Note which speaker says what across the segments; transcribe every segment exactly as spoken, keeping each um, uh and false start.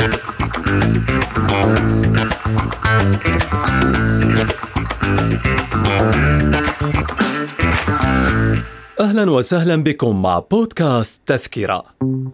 Speaker 1: أهلا وسهلا بكم مع بودكاست تذكرة.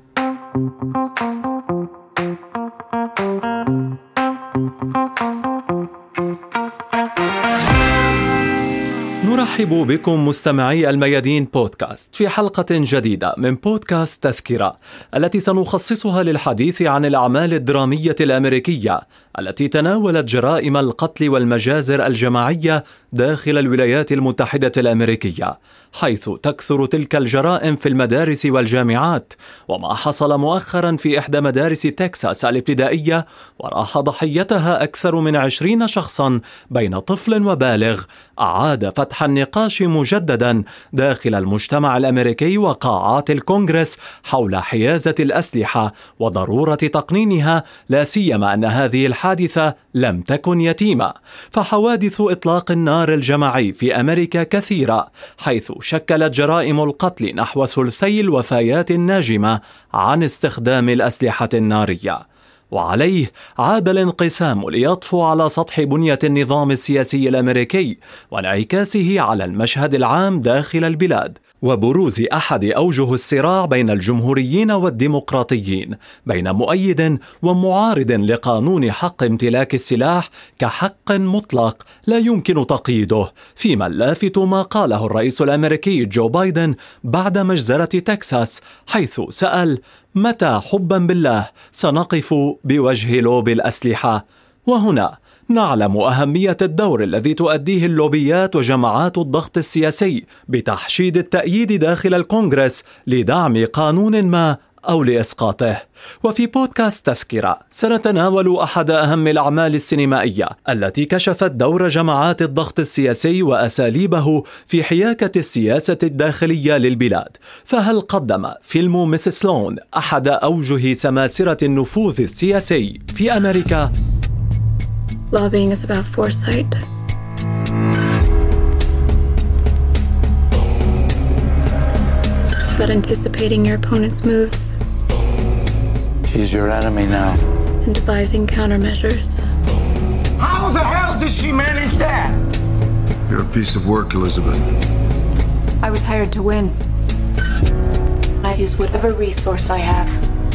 Speaker 1: نرحب بكم مستمعي الميادين بودكاست في حلقة جديدة من بودكاست تذكرة، التي سنخصصها للحديث عن الأعمال الدرامية الأمريكية التي تناولت جرائم القتل والمجازر الجماعية داخل الولايات المتحدة الأمريكية، حيث تكثر تلك الجرائم في المدارس والجامعات، وما حصل مؤخرا في إحدى مدارس تكساس الابتدائية وراح ضحيتها أكثر من عشرين شخصا بين طفل وبالغ، أعاد فتح النقاش مجددا داخل المجتمع الأمريكي وقاعات الكونغرس حول حيازة الأسلحة وضرورة تقنينها، لا سيما أن هذه الحادثة لم تكن يتيمة، فحوادث إطلاق النار الجماعي في أمريكا كثيرة، حيث شكلت جرائم القتل نحو ثلثي الوفيات الناجمة عن استخدام الأسلحة النارية. وعليه عاد الانقسام ليطفو على سطح بنية النظام السياسي الأمريكي وانعكاسه على المشهد العام داخل البلاد، وبروز أحد أوجه الصراع بين الجمهوريين والديمقراطيين، بين مؤيد ومعارض لقانون حق امتلاك السلاح كحق مطلق لا يمكن تقييده، فيما اللافت ما قاله الرئيس الأمريكي جو بايدن بعد مجزرة تكساس، حيث سأل: متى حبا بالله سنقف بوجه لوبي الأسلحة؟ وهنا نعلم أهمية الدور الذي تؤديه اللوبيات وجماعات الضغط السياسي بتحشيد التأييد داخل الكونغرس لدعم قانون ما أو لإسقاطه. وفي بودكاست تذكرة سنتناول أحد أهم الأعمال السينمائية التي كشفت دور جماعات الضغط السياسي وأساليبه في حياكة السياسة الداخلية للبلاد. فهل قدم فيلم ميس سلون أحد أوجه سماسرة النفوذ السياسي في أمريكا؟
Speaker 2: Lobbying is about foresight. About anticipating your opponent's moves.
Speaker 3: She's your enemy now.
Speaker 2: And devising countermeasures.
Speaker 4: How the hell does she manage that?
Speaker 5: You're a piece of work, Elizabeth.
Speaker 2: I was hired to win. I use whatever resource I have.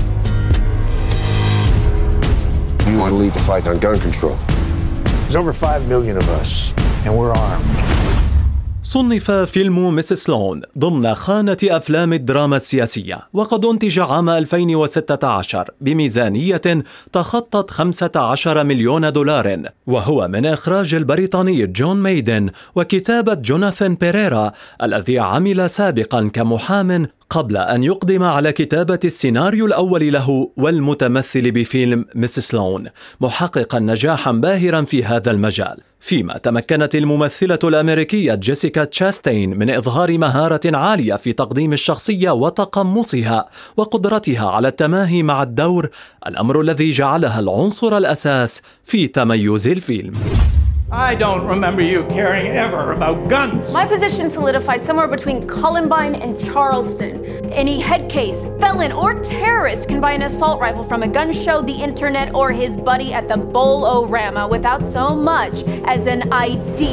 Speaker 5: You want to lead the fight on gun control.
Speaker 3: There's over five million of us, and we're armed.
Speaker 1: صنف فيلم ميس سلون ضمن خانة أفلام الدراما السياسية، وقد أنتج عام ألفين وستة عشر بميزانية تخطت خمسة عشر مليون دولار، وهو من إخراج البريطاني جون ميدن وكتابة جوناثان بيريرا الذي عمل سابقا كمحام قبل أن يقدم على كتابة السيناريو الأول له والمتمثل بفيلم ميس سلون، محققا نجاحا باهرا في هذا المجال، فيما تمكنت الممثلة الأمريكية جيسيكا تشاستين من إظهار مهارة عالية في تقديم الشخصية وتقمصها وقدرتها على التماهي مع الدور، الأمر الذي جعلها العنصر الأساس في تميز الفيلم.
Speaker 4: I don't remember you caring ever about guns.
Speaker 6: My position solidified somewhere between Columbine and Charleston. Any head case, felon, or terrorist can buy an assault rifle from a gun show, the internet, or his buddy at the Bowl-O-Rama without so much as an I D.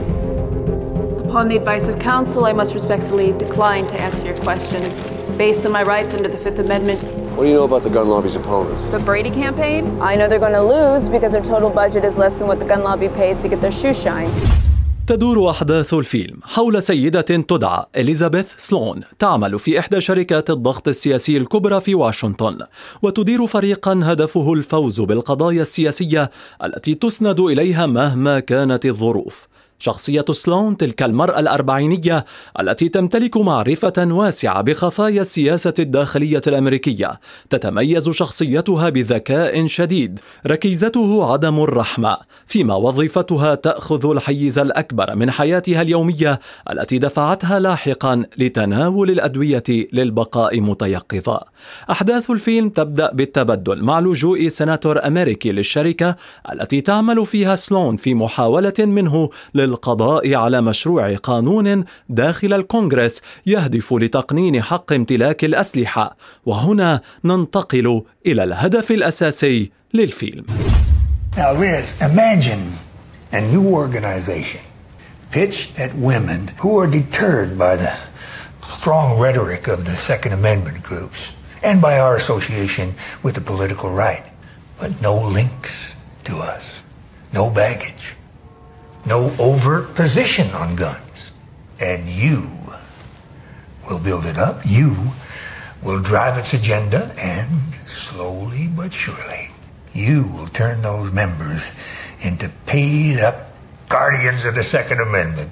Speaker 2: Upon the advice of counsel, I must respectfully decline to answer your question. Based on my rights under the Fifth Amendment.
Speaker 5: What do you know about the gun lobby's opponents?
Speaker 2: The Brady campaign? I know they're going to lose because their total budget is less than what the gun lobby pays to get their shoes shined.
Speaker 1: تدور أحداث الفيلم حول سيدة تدعى إليزابيث سلون تعمل في إحدى شركات الضغط السياسي الكبرى في واشنطن، وتدير فريقا هدفه الفوز بالقضايا السياسية التي تسند إليها مهما كانت الظروف. شخصية سلون تلك المرأة الأربعينية التي تمتلك معرفة واسعة بخفايا السياسة الداخلية الأمريكية، تتميز شخصيتها بذكاء شديد، ركيزته عدم الرحمة، فيما وظيفتها تأخذ الحيز الأكبر من حياتها اليومية التي دفعتها لاحقا لتناول الأدوية للبقاء متيقظة. أحداث الفيلم تبدأ بالتبدل مع لجوء سيناتور أمريكي للشركة التي تعمل فيها سلون في محاولة منه لل بالقضاء على مشروع قانون داخل الكونغرس يهدف لتقنين حق امتلاك الأسلحة. وهنا ننتقل إلى الهدف الأساسي للفيلم.
Speaker 3: Now, Liz, imagine a new organization pitched at women who are deterred by the strong rhetoric of the Second Amendment groups and by our association with the political right, but no links to us, no baggage, no overt position on guns. And you will build it up, you will drive its agenda, and slowly but surely, you will turn those members into paid-up guardians of the Second Amendment.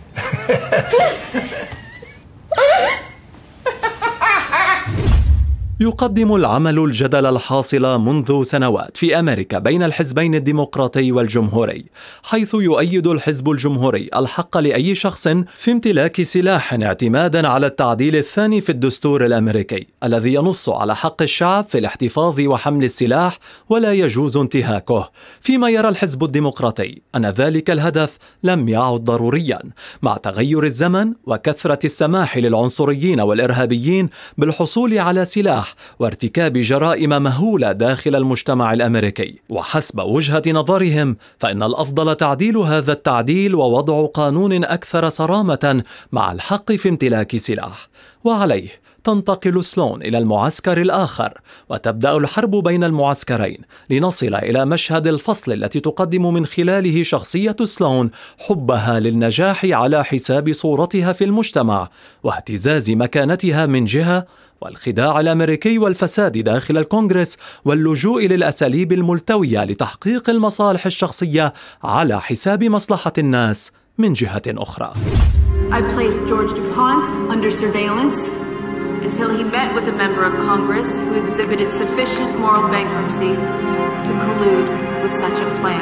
Speaker 1: يقدم العمل الجدل الحاصل منذ سنوات في أمريكا بين الحزبين الديمقراطي والجمهوري، حيث يؤيد الحزب الجمهوري الحق لأي شخص في امتلاك سلاح اعتمادا على التعديل الثاني في الدستور الأمريكي الذي ينص على حق الشعب في الاحتفاظ وحمل السلاح ولا يجوز انتهاكه، فيما يرى الحزب الديمقراطي أن ذلك الهدف لم يعد ضروريا مع تغير الزمن وكثرة السماح للعنصريين والإرهابيين بالحصول على سلاح وارتكاب جرائم مهولة داخل المجتمع الأمريكي. وحسب وجهة نظرهم فإن الأفضل تعديل هذا التعديل ووضع قانون أكثر صرامة مع الحق في امتلاك سلاح. وعليه تنتقل سلون إلى المعسكر الآخر وتبدأ الحرب بين المعسكرين لنصل إلى مشهد الفصل التي تقدم من خلاله شخصية سلون حبها للنجاح على حساب صورتها في المجتمع واهتزاز مكانتها من جهة، والخداع الأمريكي والفساد داخل الكونغرس واللجوء للأساليب الملتوية لتحقيق المصالح الشخصية على حساب مصلحة الناس من جهة أخرى.
Speaker 2: I placed George DuPont under surveillance until he met with a member of Congress who exhibited sufficient moral bankruptcy to collude with such a plan.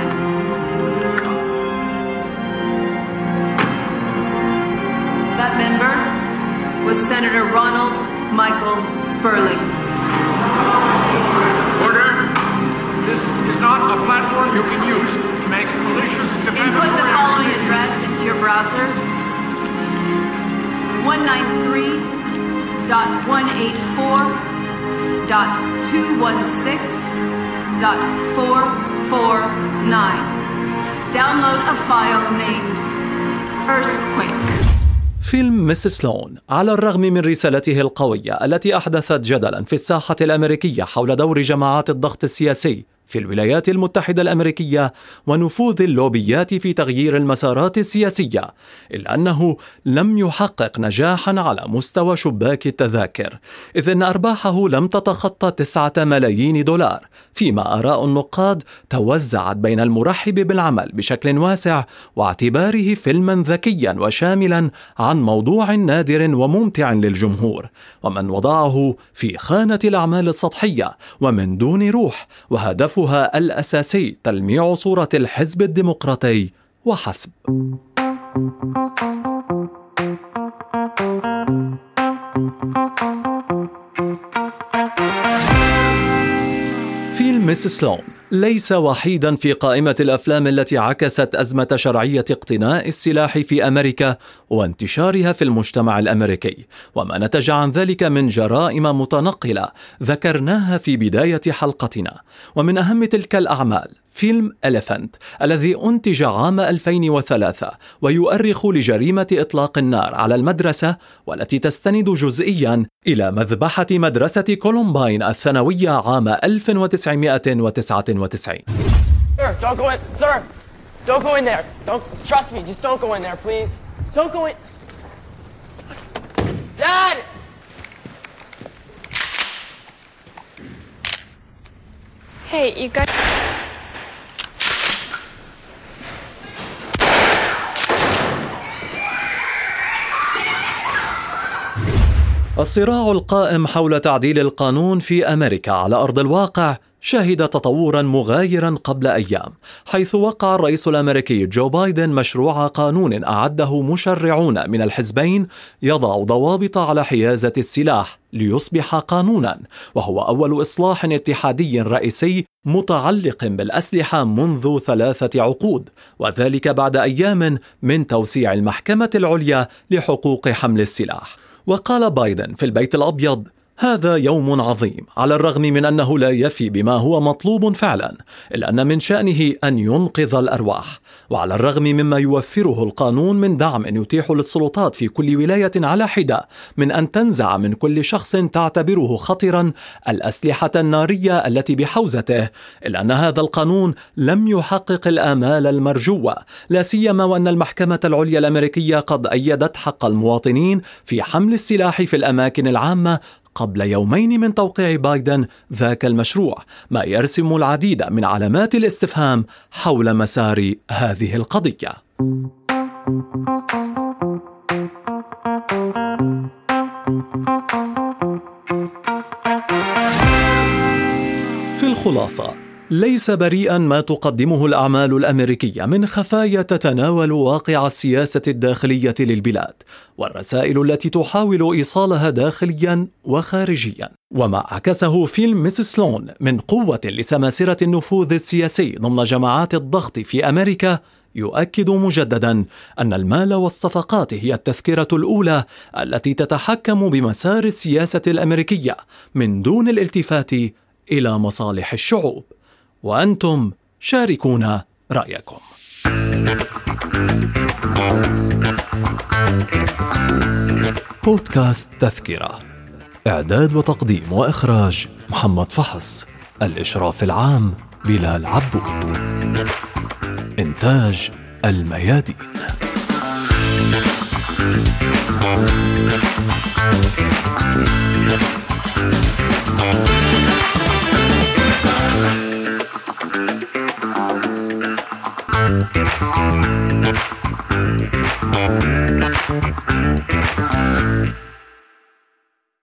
Speaker 2: That member was Senator Ronald Michael Sperling.
Speaker 4: Order. This is not a platform you can use to make malicious defamatory.
Speaker 2: Input the following address into your browser: one ninety-three dot one eighty-four dot two sixteen dot four forty-nine. Download a file named Earthquake.
Speaker 1: فيلم مس سلون على الرغم من رسالته القوية التي أحدثت جدلا في الساحة الأمريكية حول دور جماعات الضغط السياسي في الولايات المتحدة الأمريكية ونفوذ اللوبيات في تغيير المسارات السياسية، إلا أنه لم يحقق نجاحا على مستوى شباك التذاكر، إذ أن أرباحه لم تتخطى تسعة ملايين دولار، فيما آراء النقاد توزعت بين المرحب بالعمل بشكل واسع واعتباره فيلما ذكيا وشاملا عن موضوع نادر وممتع للجمهور، ومن وضعه في خانة الأعمال السطحية ومن دون روح، وهدفها الأساسي تلميع صورة الحزب الديمقراطي وحسب. فيلم مس سلون ليس وحيدا في قائمة الأفلام التي عكست أزمة شرعية اقتناء السلاح في أمريكا وانتشارها في المجتمع الأمريكي، وما نتج عن ذلك من جرائم متنقلة ذكرناها في بداية حلقتنا. ومن أهم تلك الأعمال فيلم إليفانت الذي أنتج عام ألفين وثلاثة ويؤرخ لجريمة إطلاق النار على المدرسة، والتي تستند جزئيا إلى مذبحة مدرسة كولومباين الثانوية عام ألف وتسعمائة وتسعة وتسعين.
Speaker 7: Sir, don't go in, sir. Don't go in there. Don't trust me. Just don't go in there, please. Don't go in. Dad.
Speaker 8: Hey, you guys.
Speaker 1: الصراع القائم حول تعديل القانون في أمريكا على أرض الواقع شهد تطورا مغايرا قبل أيام، حيث وقع الرئيس الأمريكي جو بايدن مشروع قانون أعده مشرعون من الحزبين يضع ضوابط على حيازة السلاح ليصبح قانونا، وهو أول إصلاح اتحادي رئيسي متعلق بالأسلحة منذ ثلاثة عقود، وذلك بعد أيام من توسيع المحكمة العليا لحقوق حمل السلاح. وقال بايدن في البيت الأبيض: هذا يوم عظيم، على الرغم من أنه لا يفي بما هو مطلوب فعلا، إلا أن من شأنه أن ينقذ الأرواح. وعلى الرغم مما يوفره القانون من دعم يتيح للسلطات في كل ولاية على حدة من أن تنزع من كل شخص تعتبره خطرا الأسلحة النارية التي بحوزته، إلا أن هذا القانون لم يحقق الآمال المرجوة، لا سيما وأن المحكمة العليا الأمريكية قد أيدت حق المواطنين في حمل السلاح في الأماكن العامة قبل يومين من توقيع بايدن ذاك المشروع، ما يرسم العديد من علامات الاستفهام حول مسار هذه القضية. في الخلاصة، ليس بريئا ما تقدمه الأعمال الأمريكية من خفايا تتناول واقع السياسة الداخلية للبلاد والرسائل التي تحاول إيصالها داخليا وخارجيا، وما عكسه فيلم ميس سلون من قوة لسماسرة النفوذ السياسي ضمن جماعات الضغط في أمريكا يؤكد مجددا أن المال والصفقات هي التذكرة الأولى التي تتحكم بمسار السياسة الأمريكية من دون الالتفات إلى مصالح الشعوب. وأنتم شاركونا رأيكم. بودكاست تذكرة، إعداد وتقديم وإخراج محمد فحص، الإشراف العام بلال عبود، إنتاج الميادين.